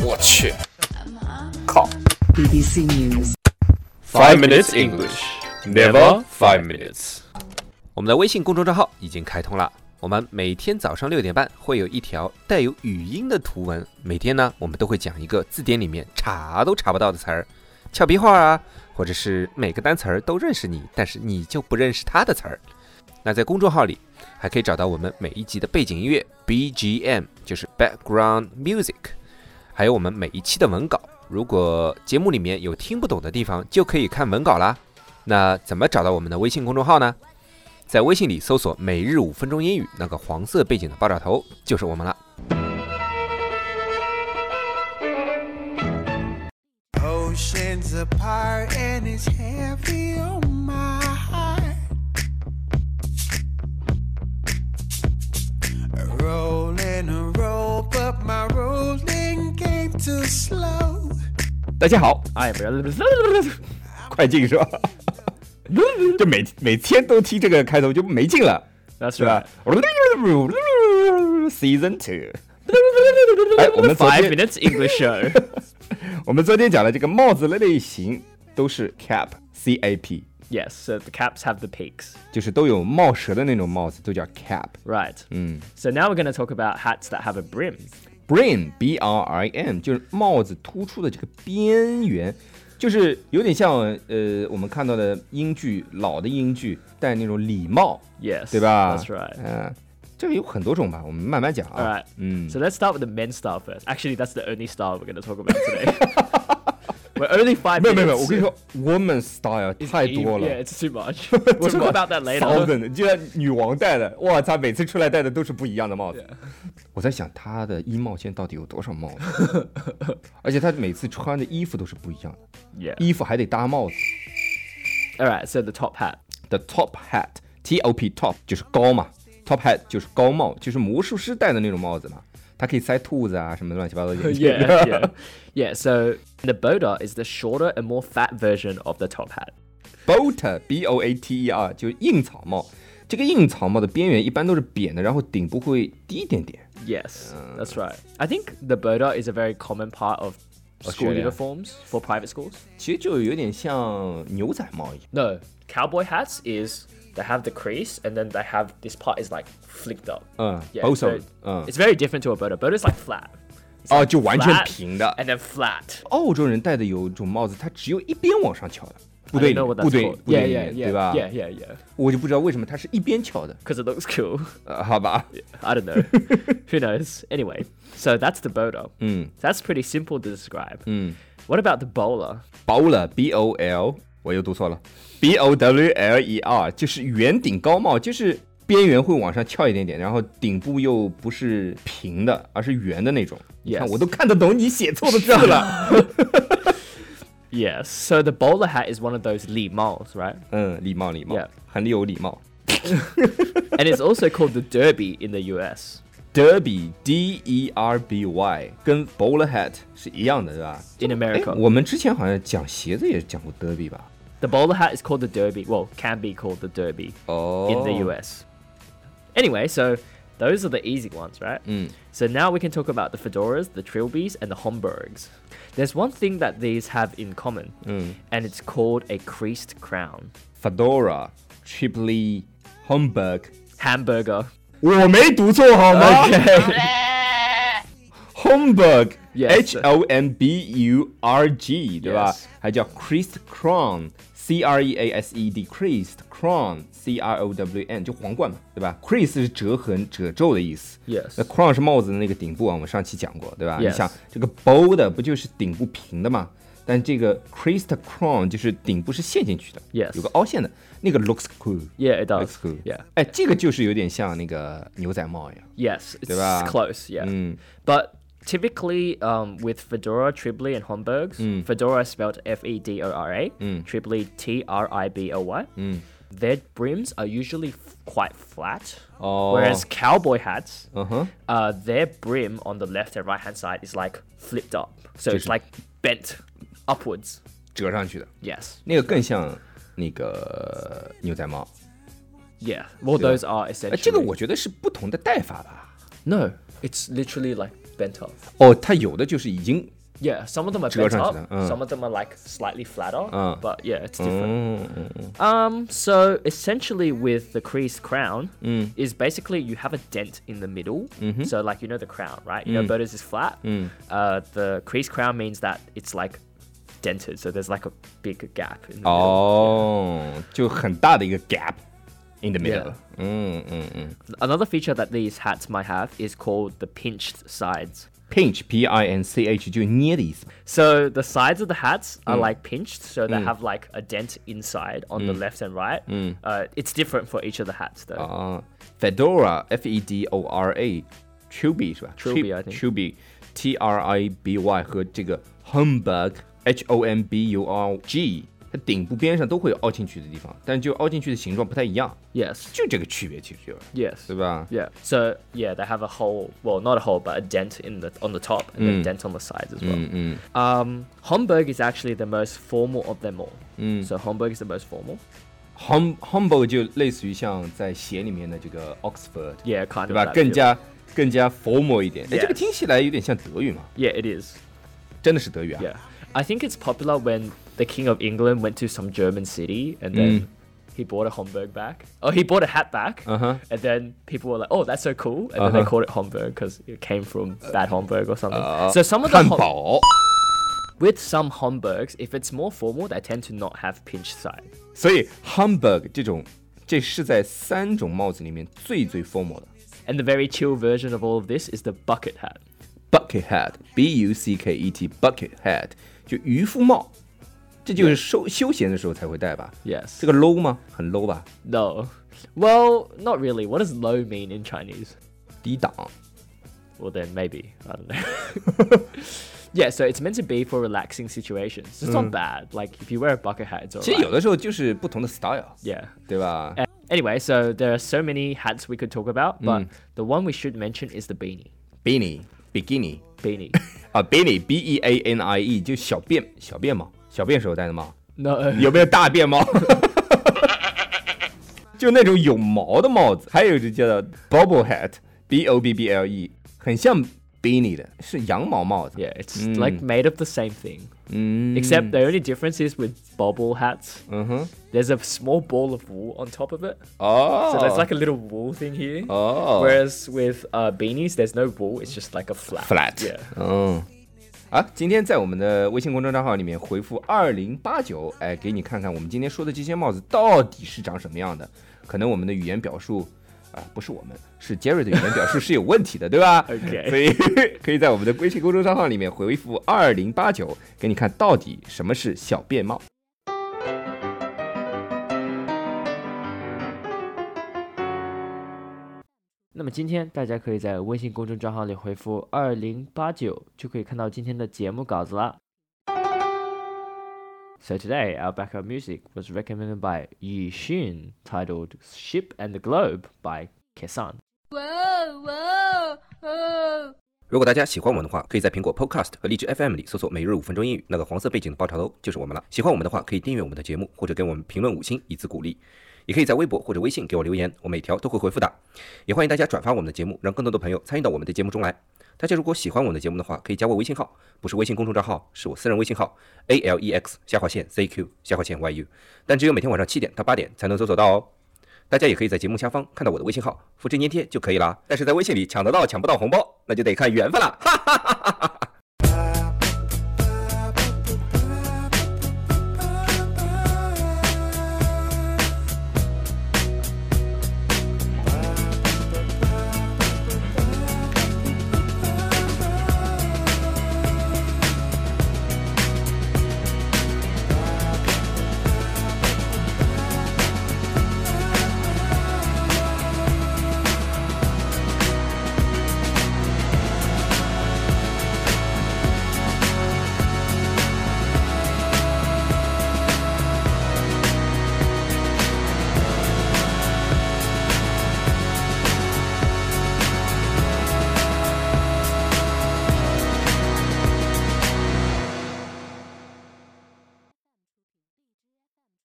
我去，靠 BBC News. ！5 minutes English, never 5 minutes。 我们的微信公众账号已经开通了，我们每天早上6点半会有一条带有语音的图文，每天呢我们都会讲一个字典里面查都查不到的词儿，俏皮话啊，或者是每个单词儿都认识你，但是你就不认识它的词儿。那在公众号里还可以找到我们每一集的背景音乐 BGM， 就是 Background Music， 还有我们每一期的文稿。如果节目里面有听不懂的地方，就可以看文稿啦。那怎么找到我们的微信公众号呢？在微信里搜索每日5分钟英语，那个黄色背景的爆炸头就是我们了。 Oceans apart and it's heavy on my heart. Rolling a roll, but my rolling game too slow. 大家好， 哎，不要， 快进是吧？就每天都听这个开头就没劲了， That's 是吧 right. ？Season 2。哎，我们昨 5 天 minutes English show. 我们昨天讲的这个帽子的类型都是 cap，C-A-P， Yes, so the caps have the peaks. 就是都有帽舌的那种帽子，都叫 cap。 Right. So now we're going to talk about hats that have a brim. Brim, B-R-I-M， 就是帽子突出的这个边缘，就是有点像我们看到的英剧，老的英剧戴那种礼帽， Yes, 对吧？ that's right. 这个有很多种吧，我们慢慢讲啊。 All right. So let's start with the men's style first. Actually, that's the only style we're going to talk about today. We're only 5 minutes. 没有，我跟你说 ，woman style 太多了。 Yeah, it's too much. We'll talk about that later. thousand， 就像女王戴的，哇，她每次出来戴的都是不一样的帽子。我在想她的衣帽现在到底有多少帽子，而且她每次穿的衣服都是不一样的， Yeah. 衣服还得搭帽子。 All right, so the top hat. The top hat, T-O-P top 就是高嘛 ，top hat 就是高帽，就是魔术师戴的那种帽子嘛，它可以塞兔子啊什么乱七八糟的眼镜。 Yeah. So the boater is the shorter and more fat version of the top hat. Boater, B-O-A-T-E-R 就是硬草帽，这个硬草帽的边缘一般都是扁的，然后顶部会低一点点。 Yes, that's right. I think the boater is a very common part of school Australia. uniforms for private schools. 其实就有点像牛仔帽一样。 No, cowboy hats is they have the crease and then they have this part is like flicked up. Yeah, both so of it. it's very different to a boater. Boater's like flat. It's 哦， like 就完全 flat 平的。 and then flat. 澳洲人戴的有一种帽子，它只有一边往上翘的，部 I 队 don't 里 know what 部 that's 队 called. 部队 Yeah, 里 yeah, 面 yeah, 对吧？ yeah. 我就不知道为什么它是一边翘的， Because it looks cool. 好吧？ I don't know. Who knows? Anyway, so that's the boater. That's pretty simple to describe. What about the bowler? Bowler, B-O-L， 我又读错了 ，B-O-W-L-E-R， 就是圆顶高帽，就是边缘会往上翘一点点，然后顶部又不是平的，而是圆的那种。你看， Yes. 我都看得懂你写错的字了。 Yes. So the bowler hat is one of those li maos, right? 礼貌， Yeah. 很有礼貌。 And it's also called the derby in the US. Derby, D-E-R-B-Y， 跟 bowler hat 是一样的，对吧？ In America. 我们之前好像讲鞋子也讲过 derby 吧？ The bowler hat is called the derby. Well, can be called the derby 哦 in the US. Anyway, so those are the easy ones, right? So now we can talk about the fedoras, the trilbies, and the Homburgs. There's one thing that these have in common, and it's called a creased crown. Fedora, Tripoli, Homburg。 Hamburger. 我没读错好吗 Homburg, Yes. H-O-M-B-U-R-G， 对吧 Yes. 还叫 creased crown, C-R-E-A-S-E-D, creased crown, C-R-O-W-N， 就皇冠嘛，对吧 ？crease 是折痕、褶皱的意思。 Yes. 那 crown 是帽子的那个顶部啊，我们上期讲过，对吧 Yes. 你想这个 bow 的不就是顶部平的吗？但这个 creased crown 就是顶部是陷进去的 Yes. 有个凹陷的，那个 looks cool。 Yeah, it does. Looks cool. Yeah. 哎，这个就是有点像那个牛仔帽一样。 Yes, it's 对吧？ close, yeah. But typically, with fedora, tribly, and Homburgs, fedora is spelled F-E-D-O-R-A, tribly T-R-I-B-L-Y. Their brims are usually quite flat, whereas cowboy hats, their brim on the left and right hand side is like flipped up, so it's like bent upwards. 折上去的， Yes, 那个更像那个牛仔帽。 yeah. Well, those are 哎， essentially. 这个我觉得是不同的戴法吧。 No, it's literally like bent up. 哦，它有的就是已经 Yeah, some of them are bent up, 折上去的， some of them are like slightly flatter, 嗯 but yeah, it's different. 嗯 So essentially with the creased crown is basically you have a dent in the middle. So like you know the crown, right? You know Berta's is flat. The creased crown means that it's like dented, so there's like a big gap in the middle. 哦，就很大的一个 gap in the middle. Yeah. 嗯嗯嗯 Another feature that these hats might have is called the pinched sides. Pinch, P-I-N-C-H 就捏的意思。 So the sides of the hats are like pinched, so they have like a dent inside on the left and right. It's different for each of the hats though. 啊 Fedora, F-E-D-O-R-A, Trilby 是吧 Trilby, I think. Trilby, T-R-I-B-Y 和这个 Homburg, H-O-M-B-U-R-G 它顶部边上都会有凹进去的地方，但就凹进去的形状不太一样， Yes. 就这个区别其实就是， Yes. 对吧？ Yeah. So yeah, they have a hole. Well, not a hole, but a dent on the top and then a dent on the sides as well. Homburg is actually the most formal of them all. So Homburg is the most formal. Homburg 就类似于像在鞋里面的这个 Oxford， Yeah, kind 对 of. 吧？ that 更加 formal 一点。哎， Yes. 这个听起来有点像德语嘛？ feel. Yeah, it is. 真的是德语啊？ Yeah. I think it's popular when the King of England went to some German city and then he bought a Homburg back. Oh, he bought a hat back. Uh-huh. And then people were like, "Oh, that's so cool!" And then they called it Homburg because it came from Bad Homburg or something. So some of the 汉堡。 with some Homburgs, if it's more formal, they tend to not have pinched side. 所以 Homburg 这是在3种帽子里面最 formal 的。 And the very chill version of all of this is the bucket hat. Bucket hat, B-U-C-K-E-T, bucket hat 就渔夫帽，这就是休闲的时候才会戴吧？ Yes. 这个 low 吗？很 low 吧？ No. Well, not really. What does low mean in Chinese? 低档。 Well, then maybe. I don't know. Yeah, so it's meant to be for relaxing situations. It's not bad. Like, if you wear a bucket hat, it's 其实有 alright. 的时候就是不同的 style， Yeah. 对吧？ Anyway, so there are so many hats we could talk about, but the one we should mention is the beanie. Beanie, bikini Beanie. 啊 ，beanie, B-E-A-N-I-E 就小便帽，小便时候戴的帽。 No. 有没有大便帽？就那种有毛的帽子，还有就叫做 bobble hat, B-O-B-B-L-E， 很像 beanie 的，是羊毛帽子。 Yeah, it's like made of the same thing. Except the only difference is with bobble hats, there's a small ball of wool on top of it. 哦 So there's like a little wool thing here. 哦 Whereas with beanies, there's no wool. It's just like a flat. flat， Yeah. 嗯。好，今天在我们的微信公众账号里面回复2089，哎，给你看看我们今天说的这些帽子到底是长什么样的。可能我们的语言表述不是我们，是 Jerry 的语言表述是有问题的，对吧 OK 所以可以在我们的微信公众账号里面回复2089，给你看到底什么是小便帽。 那么今天大家可以在微信公众账号里回复2089，就可以看到今天的节目稿子啦。So today, our backup music was recommended by Yi Xun, titled "Ship and the Globe" by Kesan. 如果大家喜欢我们的话，可以在苹果 Podcast 和荔枝 FM 里搜索每日5分钟英语，那个黄色背景的爆炒头就是我们了。喜欢我们的话，可以订阅我们的节目，或者给我们评论5星以资鼓励。也可以在微博或者微信给我留言，我每条都会回复的。也欢迎大家转发我们的节目，让更多的朋友参与到我们的节目中来。大家如果喜欢我们的节目的话，可以加我微信号，不是微信公众账号，是我私人微信号 ALEX_CQ_YU， 但只有每天晚上7点到8点才能搜索到哦。大家也可以在节目下方看到我的微信号，复制粘贴就可以了。但是在微信里抢得到抢不到红包，那就得看缘分了，哈哈哈哈哈。